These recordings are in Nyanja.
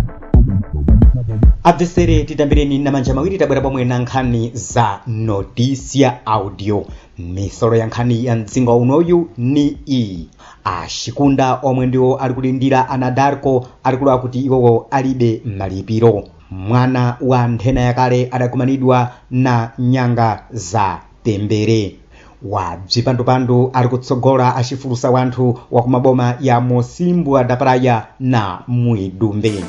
Abvesere titambireni na manja mawiri tabwera pomwe na nkhani za Notícia Audio. Misolo ya nkhani ya mzinga unoyu ni iyi. Ashikunda omwe ndiwo ali kulindira Anadarko alikula kuti iwowo alibe malipiro. Mwana wa nthena yakale adakumanidwa na nyanga za pembere. Wa bzipandupandu ali kutsogola acifulusa wanthu wa kumaboma ya Mosimbwa da Praia na Muidumbe.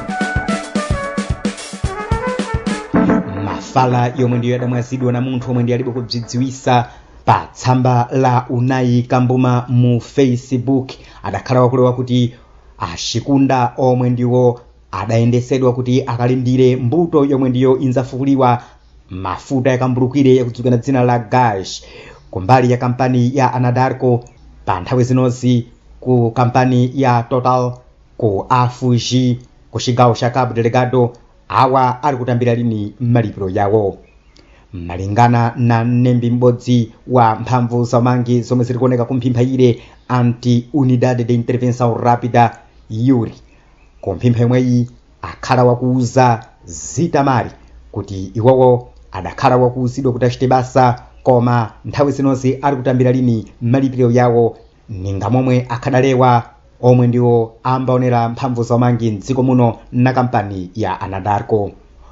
Mafala yomwe ndiyo yadamwazidwa na munthu omwe ndiye alibe kubzidziwisa pa tsamba la Unai Kambuma mu Facebook adakhala wakulewa kuti Ashikunda omwe ndiwo adayendesedwa kuti akalindire mbuto yomwe ndiyo inzafukuliwa mafuta yakambulukire yakudzukana dzina la gas kumbali ya kampani ya Anadarko pa nthawi zinozi ku kampani ya Total ku Afuji ku cigawo ca Cabo Delgado awa ali kutambira lini malipiro yawo. Malingana na mnembi m'bodzi wa mphamvu zaumangi zomwe zili kuoneka kumphimpha anti Unidade de Intervenção Rápida Yuri kumphimpha yomweyi akhala wakuuza zitamari kuti iwowo adakhala wakuuzidwa kuti achite basa koma nthawi zinozi ali kutambira lini malipiro yawo ninga momwe akhadalewa omwe ndiwo ambaonera mphamvu zaumangi mdziko muno na kampani ya Anadarko.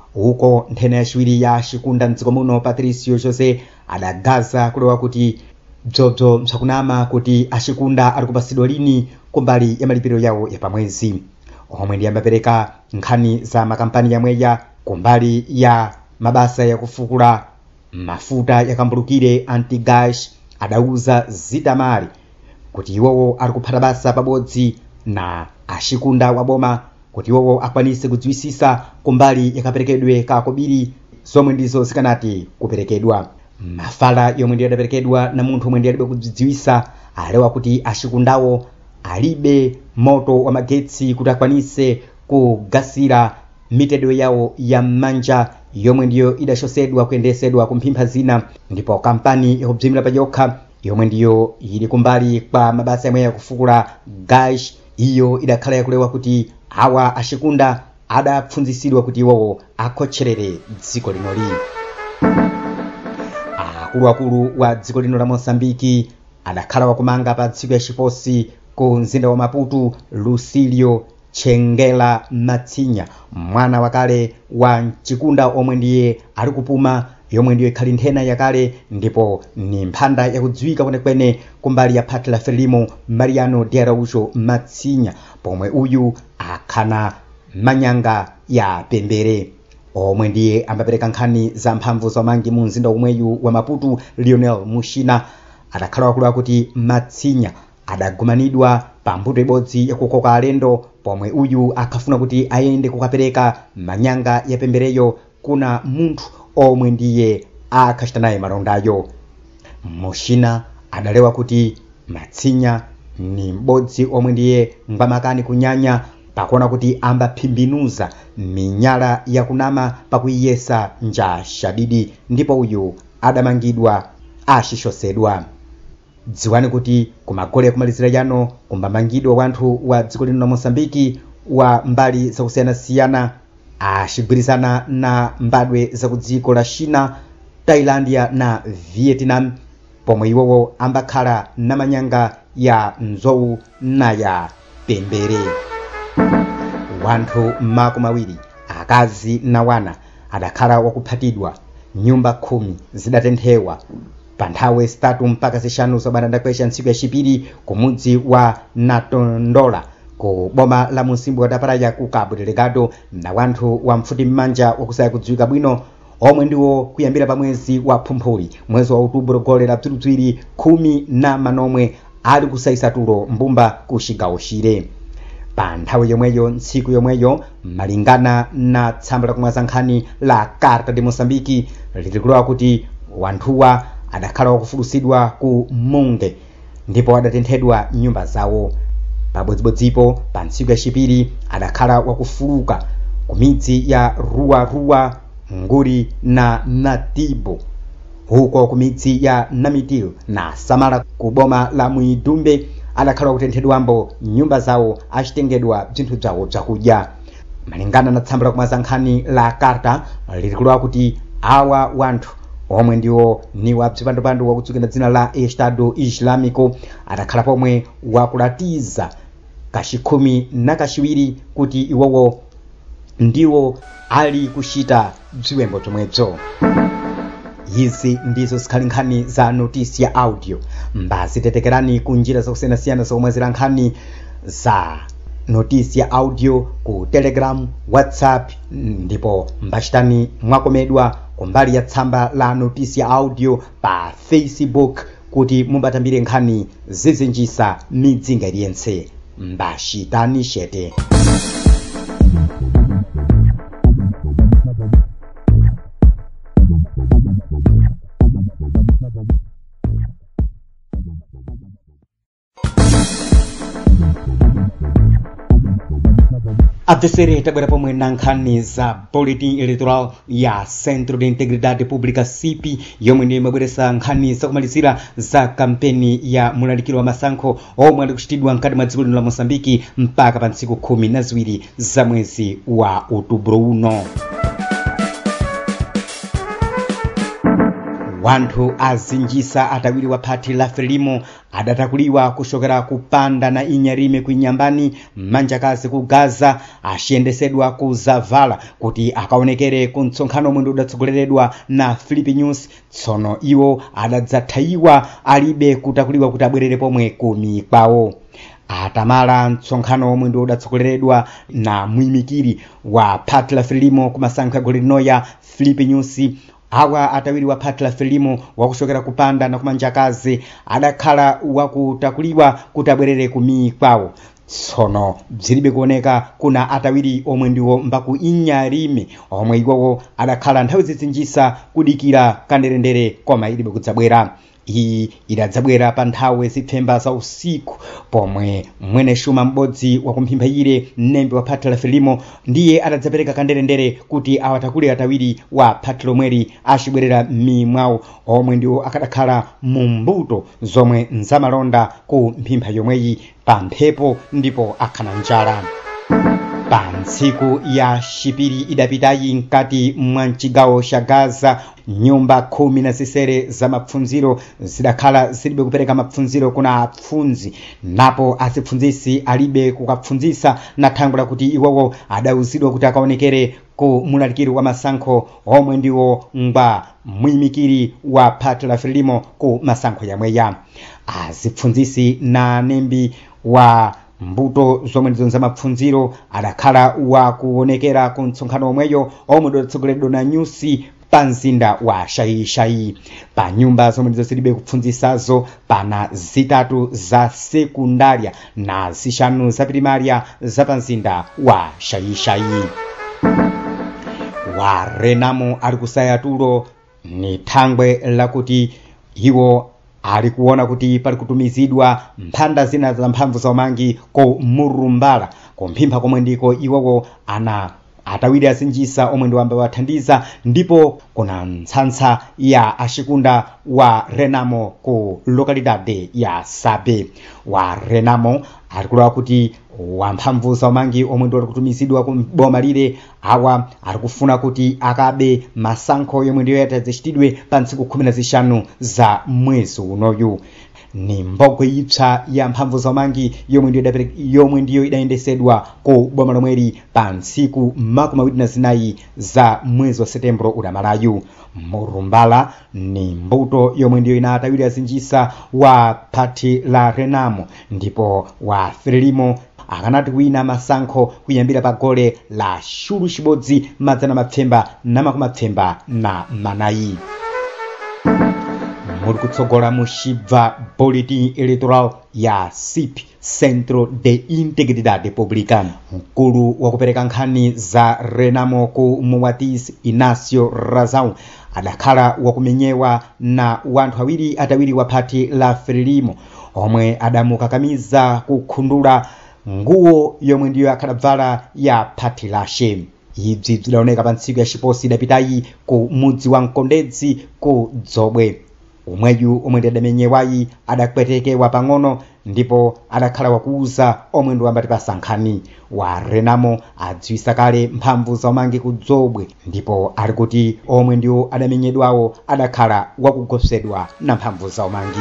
Uko nthena yaciwiri ya Ashikunda mdziko muno Patricio José adagaza kulewa kuti bzobzo msakunama kuti Ashikunda ali kupasidwa lini kumbali ya malipiro yawo ya pamwezi. Omwe ndi ambapereka nkhani za makampani yamweya kumbali ya mabasa ya kufukula mafuta yakambulukire anti-gas adauza zitamari kuti iwowo ali kuphata basa pabodzi na Ashikunda waboma kuti iwowo akwanise kudziwisisa kumbali yakaperekedwe ka kobiri zomwe ndizo zikanati kuperekedwa. Mafala yomwe ndiyo adaperekedwa na munthu omwe ndiye alibe kudziwisa alewa kuti Ashikundawo alibe moto wa magetsi kuti akwanise kugasira mitedwe yawo ya manja yomwe ndiyo idachosedwa kuyendesedwa kumphimpha zina, ndipo kampani yakubzimira payokha yomwe ndiyo ili kumbali kwa mabasa yamwe yakufukula gas iyo idakhala yakulewa kuti awa Ashikunda adapfunzisidwa kuti iwowo akhotcherere dziko linoli. Akuluakulu wa dziko lino la Mosambiki adakhala wakumanga pa tsiku ya chiposi ku mzinda wa Maputo Lucilio Chengela Matsinya, mwana wakale wa Chikunda omwe ndiye ali kupuma yomwe ndiyo ikhali nthena yakale ndipo ni mphanda yakudziwika kwenekwene kumbali ya phati la Frelimo Mariano de Araújo Matsinya, pomwe uyu akhana manyanga ya pembere. Omwe ndiye ambapereka nkhani za mphamvu zaumangi mu mzinda umweyu wa Maputo Lionel Mushina adakhala wakulewa kuti Matsinya adagumanidwa pa mbuto ibodzi yakukoka alendo, pomwe uyu akhafuna kuti ayende kukapereka manyanga ya pembereyo kuna munthu omwe ndiye akhachita naye malondayo. Mushina adalewa kuti Matsinya ni m'bodzi omwe ndiye ngwamakani kunyanya pakuona kuti ambaphimbinuza minyala yakunama pakuyesa nja shadidi, ndipo uyu adamangidwa achichosedwa. Dziwani kuti kumagole yakumalizira yano kumbamangidwa wanthu wa dziko lino la Mosambiki wa mbali zakusiyana-siyana achigwirizana na mbadwe za ku dziko la China, Thailandia na Vietnam, pomwe iwowo ambakhala na manyanga ya nzowu na ya pembere. Wanthu makumi awiri akazi na wana adakhala wakuphatidwa, nyumba 10 zidatenthewa pa nthawi zitatu mpaka zishanu zobanda kwesha ntsiku yachipiri ku mudzi wa Natondola ku boma la Mosimbwa da Praia ku Cabo Delgado, na wanthu wa mfuti mmanja wakusaya kudziwika bwino omwe ndiwo kuyambira pa mwezi wa Phumphuli mwezi wa Outubro gole la bzirubziri 10 na manomwe ali kusayisa tulo mbumba ku cigawo chire. Pa nthawi yomweyo ntsiku yomweyo malingana na tsamba la kumwaza nkhani la Carta de Moçambique lilikulewa kuti wanthuwa adakhala wakufulusidwa ku Munge ndipo adatenthedwa nyumba zawo. Pabodzibodzipo pa ntsiku yachipiri adakhala wakufuluka ku midzi ya Ruwa, Nguri na Natibo, huko ku midzi ya Namitil na Samara ku boma la Muidumbe adakhala kutenthedwambo nyumba zawo achitengedwa bzinthu bzawo bzakudya. malingana na tsamba la kumasankhani la Carta lilikulowa kuti awa wanthu omwe ndiwo ni wapsipandopando wakutsukira dzina la Estado Islamico adakhala pomwe wakulatiza kachikhumi na kachiwiri kuti iwowo ndiwo ali kuchita bziwembo zomwezo. Izi ndizo zikhali nkhani za notisi ya audio. Mbazitetekerani kunjira zakusiyanasiyana zomwe zili nkhani za notisi ya audio ku Telegram, WhatsApp, ndipo mbachitani mwakomedwa kumbali ya tsamba la notisi ya audio pa Facebook kuti mumbatambire nkhani zizinjisa midzinga iliyense. Mbachitani shete. Atesere tabwera pomwe na nkhani za Bulletin Electoral ya Centro de Integridade Pública CIP yomwe ndiye mabweresa nkhani zakumalizira za kampeni ya mulalikiro wa masankho omwe ali kuchitidwa mkati mwa dziko lino la Mozambiki mpaka pa ntsiku 12 za mwezi wa Outubro uno. Wanthu azinjisa atawiri wa phati la Frelimo adatakuliwa kushokera kupanda na Inyarime kuinyambani manjakazi ku Gaza ashiyendesedwa ku Zavala kuti akaonekere ku mtsonkhano omwe udatsogoleredwa na Filipi News. Tsono iwo adadzathayiwa alibe kutakuliwa kuti abwerere pomwe ku mikwawo. Atamala mtsonkhano omwe udatsogoleredwa na mwimikiri wa phati la Frelimo ku masankho ya goli linoya Filipi News. Awa atawiri wa phati la Frelimo wakushokera kupanda na kumanjakazi adakhala wakutakuliwa kuti abwerere ku mikwawo. Tsono bzilibe kuoneka kuna atawiri omwe ndiwo mbaku Inyarime omwe iwowo adakhala nthawi zizinjisa kudikira kanderendere koma ilibe kudzabwera. Iyi idadzabwera pa nthawi zipfemba za usiku pomwe mwene shuma m'bodzi wakumphimphayire mnembe wa phati la Frelimo ndiye adadzapereka kanderendere kuti awatakule atawiri wa phati lomweri achibwerera m'mimwawo omwe ndiwo akadakhala mu mbuto zomwe nzamalonda ku mphimpha yomweyi pa mphepo ndipo akhana njala. Pa ntsiku ya chipiri idapitayi mkati mwa mchigawo cha Gaza nyumba 10 za mapfunziro zidakhala zilibe kupereka mapfunziro kuna apfunzi, napo asipfunzisi alibe kukapfunzisa na thangula kuti iwowo adauzidwa kuti akaonekere ku mulalikiri wa masankho omwe ndiwo ngwa mwimikiri wa phati la Frelimo ku masankho yamweya. Asipfunzisi na nembi wa mbuto zomwe ndizo za mapfunziro adakhala wakuonekera ku mtsonkhano omweyo omwe udatsogoleredwa na Nyusi pa mzinda wa Shaishai. Pa nyumba zomwe ndizo zilibe kupfunzisazo pana zitatu za sekundaria na zishanu za primaria za pa mzinda wa Shaishai. Wa Renamo ali kusaya tulo ni thangwe lakuti iwo alikuona kuti pali kutumizidwa mphanda zina za mphamvu za umangi ko Murumbala kumphimpa komwe ndiko iwowo ana atawiri azinjisa omwe ndi wamba wathandiza, ndipo kuna ntsantsa ya ashikunda wa Renamo ku lokalidade ya Sabe. Wa Renamo alikulowa kuti wamphamvu za umangi omwe ndi kutumizidwa ku boma lile awa alikufuna kuti akabe masankho yomwe ndiyo yatadzachitidwe pa ntsiku 15 za mwezi unoyu. Ni mbogwe ipsa ya mphamvu za umangi yomwe ndiyo idayendesedwa ku boma lomweri pa ntsiku 24 za mwezi wa Setembro udamalayu. Murumbala ni mbuto yomwe ndiyo inatawiri azinjisa wa phati la Renamo, ndipo wa Frelimo akanati kuina masankho kuyambira pa gole la shuru chibodzi madzana mapfemba na makumi apfemba na manayi. Muri kutsogola mushibva Bulletin Electoral ya CIP, Centro de Integridade Pública. Mkulu wa kupereka nkhani za Renamo ku Muwatis Inácio Razão adakhala wakumenyewa na wanthu awiri atawiri wa phati la Frelimo omwe adamukakamiza kukhundula nguo yomwe ndiyo akadavala ya phati lashe. Ibzi zidaoneka pa ntsiku ya chiposi idapitayi ku mudzi wa Mkondedzi ku Dzobwe. umweyu omwe ndi adamenyewayi adapwetekedwa pang'ono ndipo adakhala wakuuza omwe ndi wambati pasankhani wa Renamo adziwisa kale mphamvu zaumangi kudzobwe ndipo ali kuti omwe ndiwo adamenyedwawo adakhala wakugopsedwa na mphamvu zaumangi.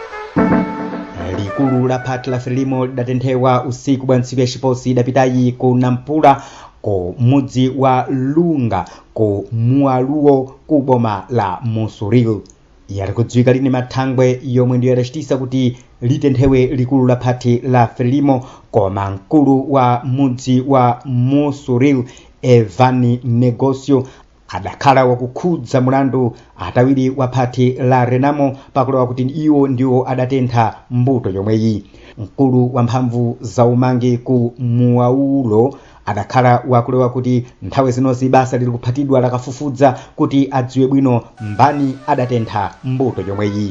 Likulu la phati la Frelimo lidatenthewa usiku bwa ntsiku yaciposi idapitayi ku Nampula ku mudzi wa Lunga ku Mualuo ku boma la Musuril. Yali kudziwika lini mathangwe yomwe ndiyo adacitisa kuti litenthewe likulu la phati la Frelimo koma mkulu wa mudzi wa Musuril Evani Negocio adakhala wakukhudza mulandu atawiri wa phati la Renamo pakulowa kuti iwo ndiwo adatentha mbuto yomweyi. Mkulu wa mphamvu zaumangi ku Muaulo adakhala wakulowa kuti nthawi zinozi basa lili kuphatidwa lakafufudza kuti adziwe bwino mbani adatentha mbuto yomweyi.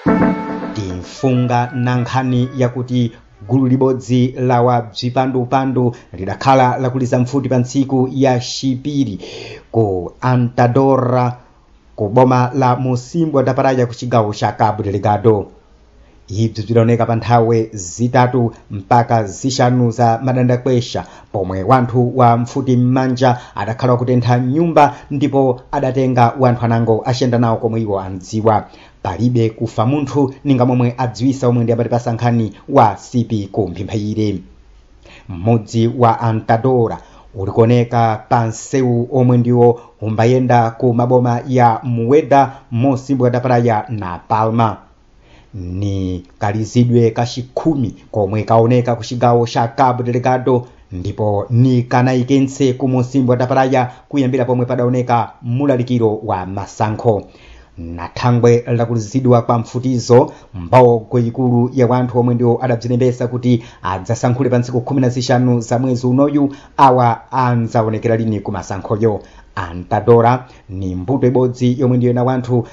Timfunga na nkhani yakuti gulu libodzi la wabzipandupandu lidakhala lakuliza mfuti pa ntsiku ya Chipiri ku Antadora ku boma la Musimbwa da Praia ku chigawo cha Cabo Delgado. Ibzi bzidaoneka pa nthawe zitatu mpaka zixanu za madandakwesha pomwe wanthu wa mfuti m'manja adakhala wakutentha nyumba ndipo adatenga wanthu anango aciyenda nawo komwe iwo andziwa. Palibe kufa munthu ninga momwe adziwisa omwe ndi abati pasankhani wa CP ku Mphimphaire. Mudzi wa Antadora ulikuoneka pa nsewu omwe ndiwo umbayenda ku maboma ya Mueda, Musimbwa da Praia na Palma. Ni kalizidwe kaxikhumi komwe kaoneka ku chigawo cha Cabo Delgado ndipo ni kanaikense ku Musimbwa da Praia kuyambira pomwe padaoneka mulalikiro wa masankho. Na thangwe lakulizidwa kwa mfutizo mbawo ikulu ya wanthu omwe ndiwo adabzilembesa kuti adzasankhule pa ntsiku 15 za mwezi unoyu awa anzaonekera lini ku masankhoyo. Antadora ni mbuto ibodzi yomwe ndiyo na wanthu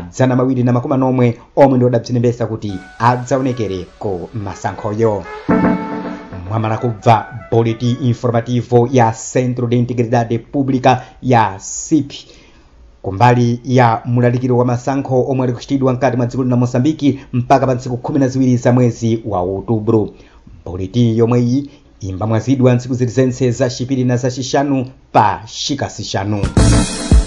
290 omwe ndiwo adabzilembesa kuti adzaonekere ku masankhoyo. Mwamala kubva Boletim Informativo ya Centro de Integridade Pública ya CIP kumbali ya mulalikiro wa masankho omwe ali kuchitidwa mkati mwa dziko la Mozambiki mpaka pa ntsiku 12 za mwezi wa Outubro. Boletim yomweyi imba mwazidwa ntsiku zilizense za Chipiri na za Xixanu pa xikasixanu.